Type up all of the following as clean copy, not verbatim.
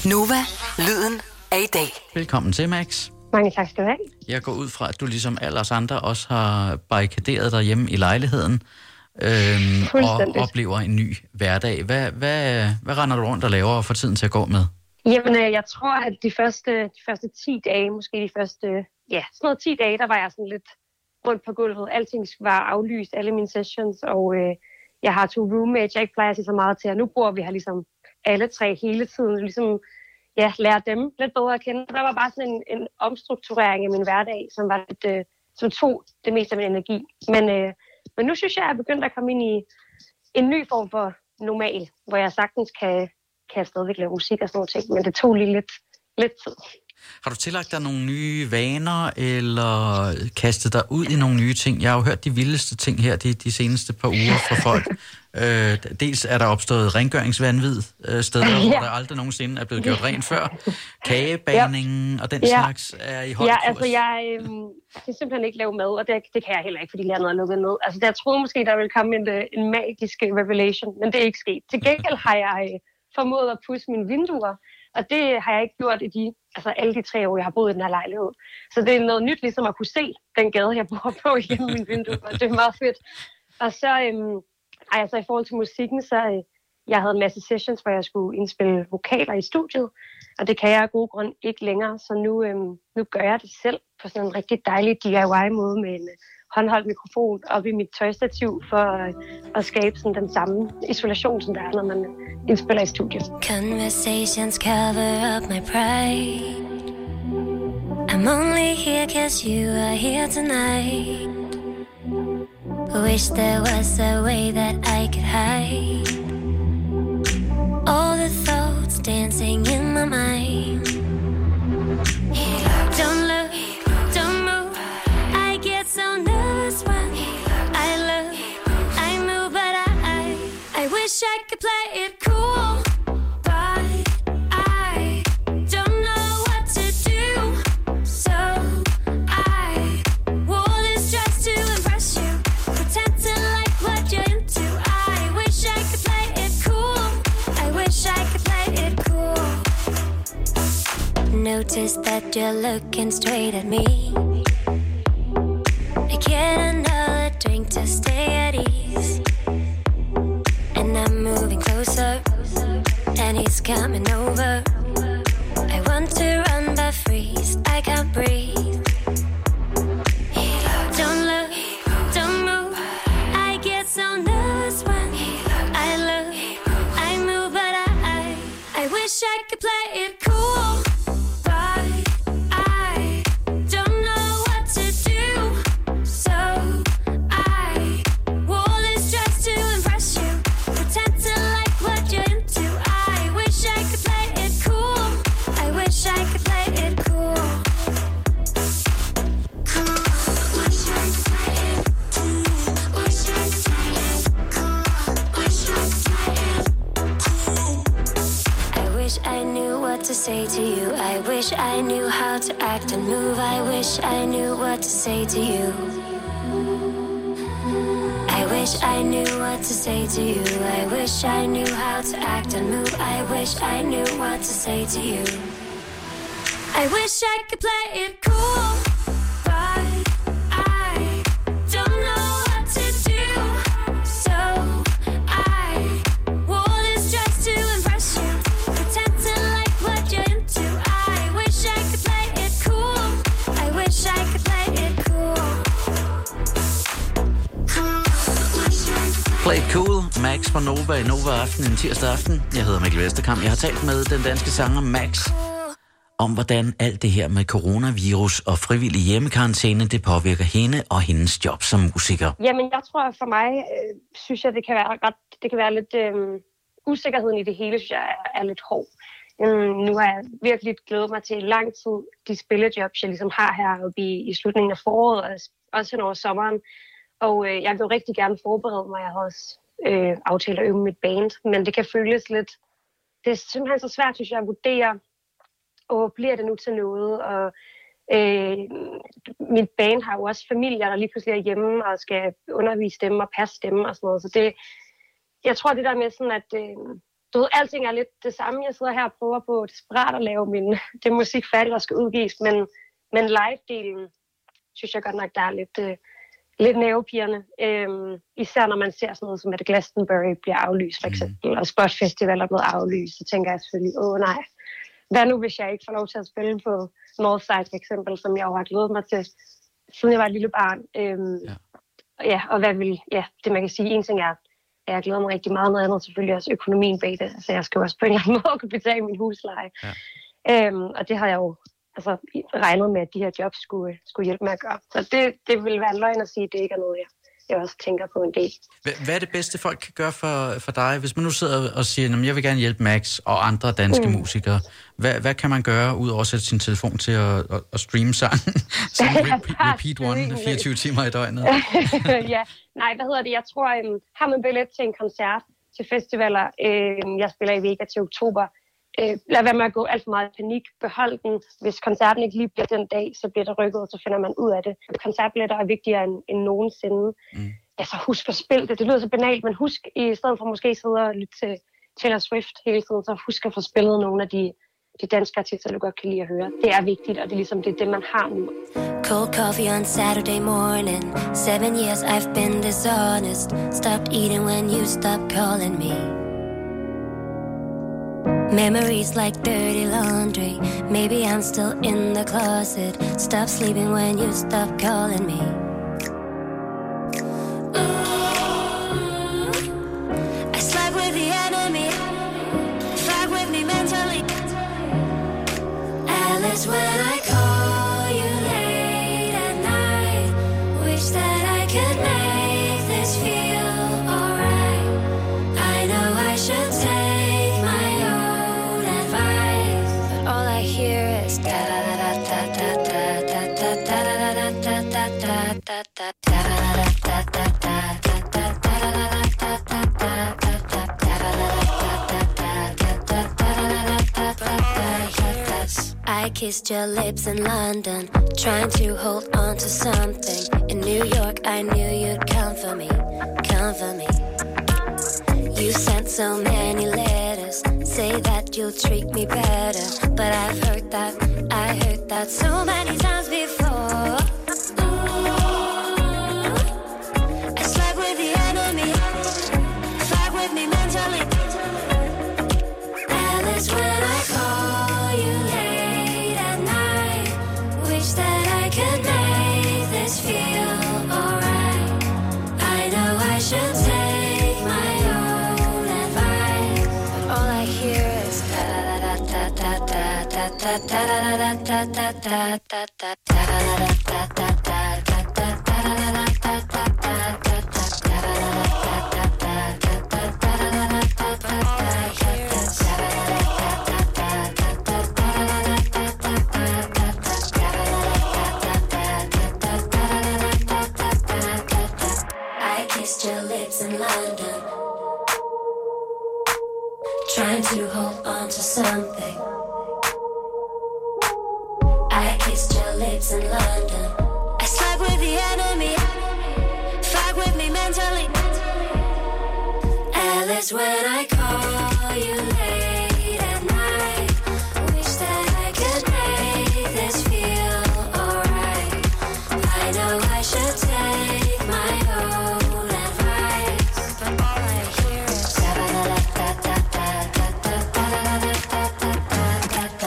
Nova, lyden af i dag. Velkommen til, Max. Mange tak skal du have. Jeg går ud fra, at du ligesom alle os andre også har barrikaderet dig hjemme i lejligheden og oplever en ny hverdag. Hvad render du rundt og laver og får tiden til at gå med? Jamen, jeg tror, at de første 10 dage, måske de første, sådan noget 10 dage, der var jeg sådan lidt rundt på gulvet. Alting var aflyst, alle mine sessions, og jeg har 2 roommates, jeg ikke plejer at se så meget til, og nu bor vi her ligesom alle 3 hele tiden, ligesom lære dem lidt bedre at kende. Der var bare sådan en omstrukturering af min hverdag, som var lidt, som tog det meste af min energi. Men nu synes jeg, at jeg er begyndt at komme ind i en ny form for normal, hvor jeg sagtens kan stadigvæk lave musik og sådan noget ting, men det tog lige lidt tid. Har du tillagt dig nogle nye vaner, eller kastet dig ud i nogle nye ting? Jeg har jo hørt de vildeste ting her de seneste par uger fra folk. Dels er der opstået rengøringsvanvid steder, hvor der aldrig nogensinde er blevet gjort rent før. Kagebagningen og den slags er i høj kurs. Altså jeg kan simpelthen ikke lave mad, og det kan jeg heller ikke, fordi landet er lukket ned. Altså jeg troede måske, der ville komme en magisk revelation, men det er ikke sket. Til gengæld har jeg formået at pudse mine vinduer, og det har jeg ikke gjort i alle de 3 år, jeg har boet i den her lejlighed. Så det er noget nyt, ligesom at kunne se den gade, jeg bor på igennem mine vinduer, og det er meget fedt. Og så, så i forhold til musikken, så jeg havde en masse sessions, hvor jeg skulle indspille vokaler i studiet, og det kan jeg af gode grund ikke længere, så nu gør jeg det selv på sådan en rigtig dejlig DIY-måde med en håndholdt mikrofon op i mit tøjstativ for at skabe sådan den samme isolation, som der er, når man indspiller i studiet. Conversations cover up my pride. I'm only here 'cause you are here tonight. Wish there was a way that I could hide all the thoughts dancing in my mind. Don't look, don't move. I get so nervous when I move, but I wish I could play it cool, but I don't know what to do. So I wore this dress to impress you, pretend to like what you're into. I wish I could play it cool. I wish I could play it cool. Notice that you're looking straight at me. I get another drink to stay at ease, and I'm moving closer, and he's coming over. I want to run but freeze, I can't breathe. Don't look, don't move. I get so nervous when I move, but I wish I could play it cool, but I don't know what to do. So I wore this dress to impress you, pretend to like what you're into. I wish I could play it cool. I wish I could play it cool. Wish I could play it cool. Wish I could play it cool. Wish I could play it cool. I wish I knew what to say to you. I wish I knew how to act and move. I wish I knew what to say to you. I wish I knew what to say to you. I wish I knew how to act and move. I wish I knew what to say to you. I wish I could play it cool, but I don't know what to do. So I wore this dress to impress you, pretend to like what you're into. I wish I could play it cool. I wish I could play it cool. Play it cool. Max fra Nova i Nova Aften en tirsdag aften. Jeg hedder Mikkel Vesterkamp. Jeg har talt med den danske sanger Max om, hvordan alt det her med coronavirus og frivillig hjemmekarantæne, det påvirker hende og hendes job som musiker. Jamen, jeg tror for mig, synes jeg, det kan være lidt usikkerheden i det hele, synes jeg er lidt hård. Nu har jeg virkelig glædet mig til lang tid de spillejobs, jeg ligesom har heroppe i slutningen af foråret, og også hen over sommeren. Og jeg vil rigtig gerne forberede mig. Jeg har også aftalt at øve mit band, men det kan føles lidt... Det er simpelthen så svært, synes jeg, at vurdere, og bliver det nu til noget? Og mit band har jo også familier, der lige pludselig er hjemme og skal undervise dem og passe dem og sådan noget. Så det, jeg tror, det der med sådan, at du ved, alting er lidt det samme. Jeg sidder her og prøver på desperat at lave det musik færdigt, der skal udgives, men live-delen, synes jeg godt nok, der er lidt nervepirrende. Især når man ser sådan noget som, at Glastonbury bliver aflyst, for eksempel, og Spot Festival er blevet aflyst, så tænker jeg selvfølgelig, nej, hvad nu, hvis jeg ikke får lov til at spille på Northside, for eksempel, som jeg jo har glædet mig til, siden jeg var et lille barn. Og hvad vil, det man kan sige, en ting er, at jeg glæder mig rigtig meget, noget andet selvfølgelig også økonomien bag det, så jeg skal også på en eller anden måde kunne betale min husleje. Og det har jeg jo regnet med, at de her jobs skulle hjælpe med at gøre. Så det vil være en løgn at sige, at det ikke er noget, jeg også tænker på en del. Hvad er det bedste, folk kan gøre for dig? Hvis man nu sidder og siger, at jeg vil gerne hjælpe Max og andre danske musikere, hvad kan man gøre, ud over at sætte sin telefon til at streame sangen? Repeat one 24 timer i døgnet? Jeg tror, har man billet til en koncert, til festivaler, jeg spiller i Vega til oktober, lad være med at gå alt for meget i panik. Behold den. Hvis koncerten ikke lige bliver den dag, så bliver det rykket, og så finder man ud af det. Koncertbilletter er vigtigere end nogensinde. Så husk at spille det. Det lyder så banalt, men husk, i stedet for måske sidde og lytte til Taylor Swift hele tiden, så husk at få spillet nogle af de danske artister, du godt kan lide at høre. Det er vigtigt, og det er ligesom det, man har nu. Cold coffee on Saturday morning. 7 years I've been dishonest. Stopped eating when you stopped calling me. Memories like dirty laundry. Maybe I'm still in the closet. Stop sleeping when you stop calling me. Ooh, I slept with the enemy. Fuck with me mentally. Alice, when I call you late at night, wish that I could make this feel alright. I know I should take my own advice, but all I hear is da da da da da da da da da da da da da da da. I kissed your lips in London, trying to hold on to something. In New York, I knew you'd come for me, come for me. You sent so many letters, say that you'll treat me better. But I've heard that so many times before. Ooh, I slept with the enemy, fuck with me mentally. Alice, when I call you late at night, wish that I could make this feel alright. I know I should take my own advice, but all I hear is da da da da da da da da da da da da da trying to hold on to something. I kissed your lips in London. I slept with the enemy. Fuck with me mentally. Alice, when I call you late at night, wish that I could make this feel alright. I know I should take my own advice, but all I hear is da da da da da da da da da da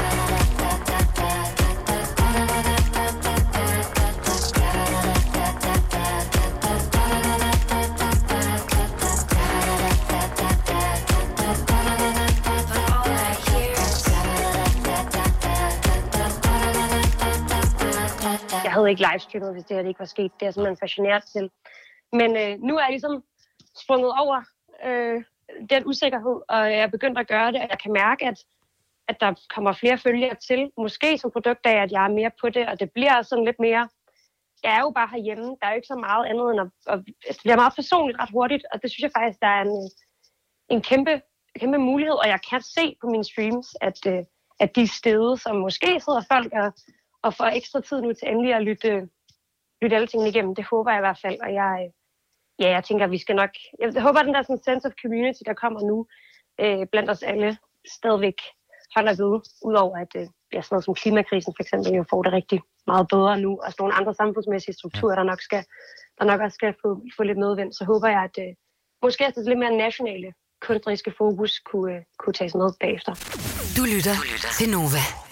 Jeg havde ikke livestreamet, hvis det her ikke var sket. Det er simpelthen fascineret til. Men nu er jeg ligesom sprunget over den usikkerhed, og jeg er begyndt at gøre det, og jeg kan mærke, at der kommer flere følgere til. Måske som produkt af, at jeg er mere på det, og det bliver sådan lidt mere... Jeg er jo bare herhjemme. Der er jo ikke så meget andet end at det bliver meget personligt ret hurtigt, og det synes jeg faktisk, der er en kæmpe mulighed, og jeg kan se på mine streams, at de steder, som måske sidder folk og får ekstra tid nu til endelig at lytte alle tingene igennem. Det håber jeg i hvert fald, og jeg tænker, at vi skal nok... Jeg håber, at den der sådan sense of community, der kommer nu, blandt os alle stadigvæk holder ved, udover at sådan noget som klimakrisen for eksempel jo får det rigtig meget bedre nu, og sådan nogle andre samfundsmæssige strukturer, der nok også skal få lidt medvind, så håber jeg, at måske at det lidt mere nationale kunstneriske fokus kunne tages med bagefter. Du lytter til Nova.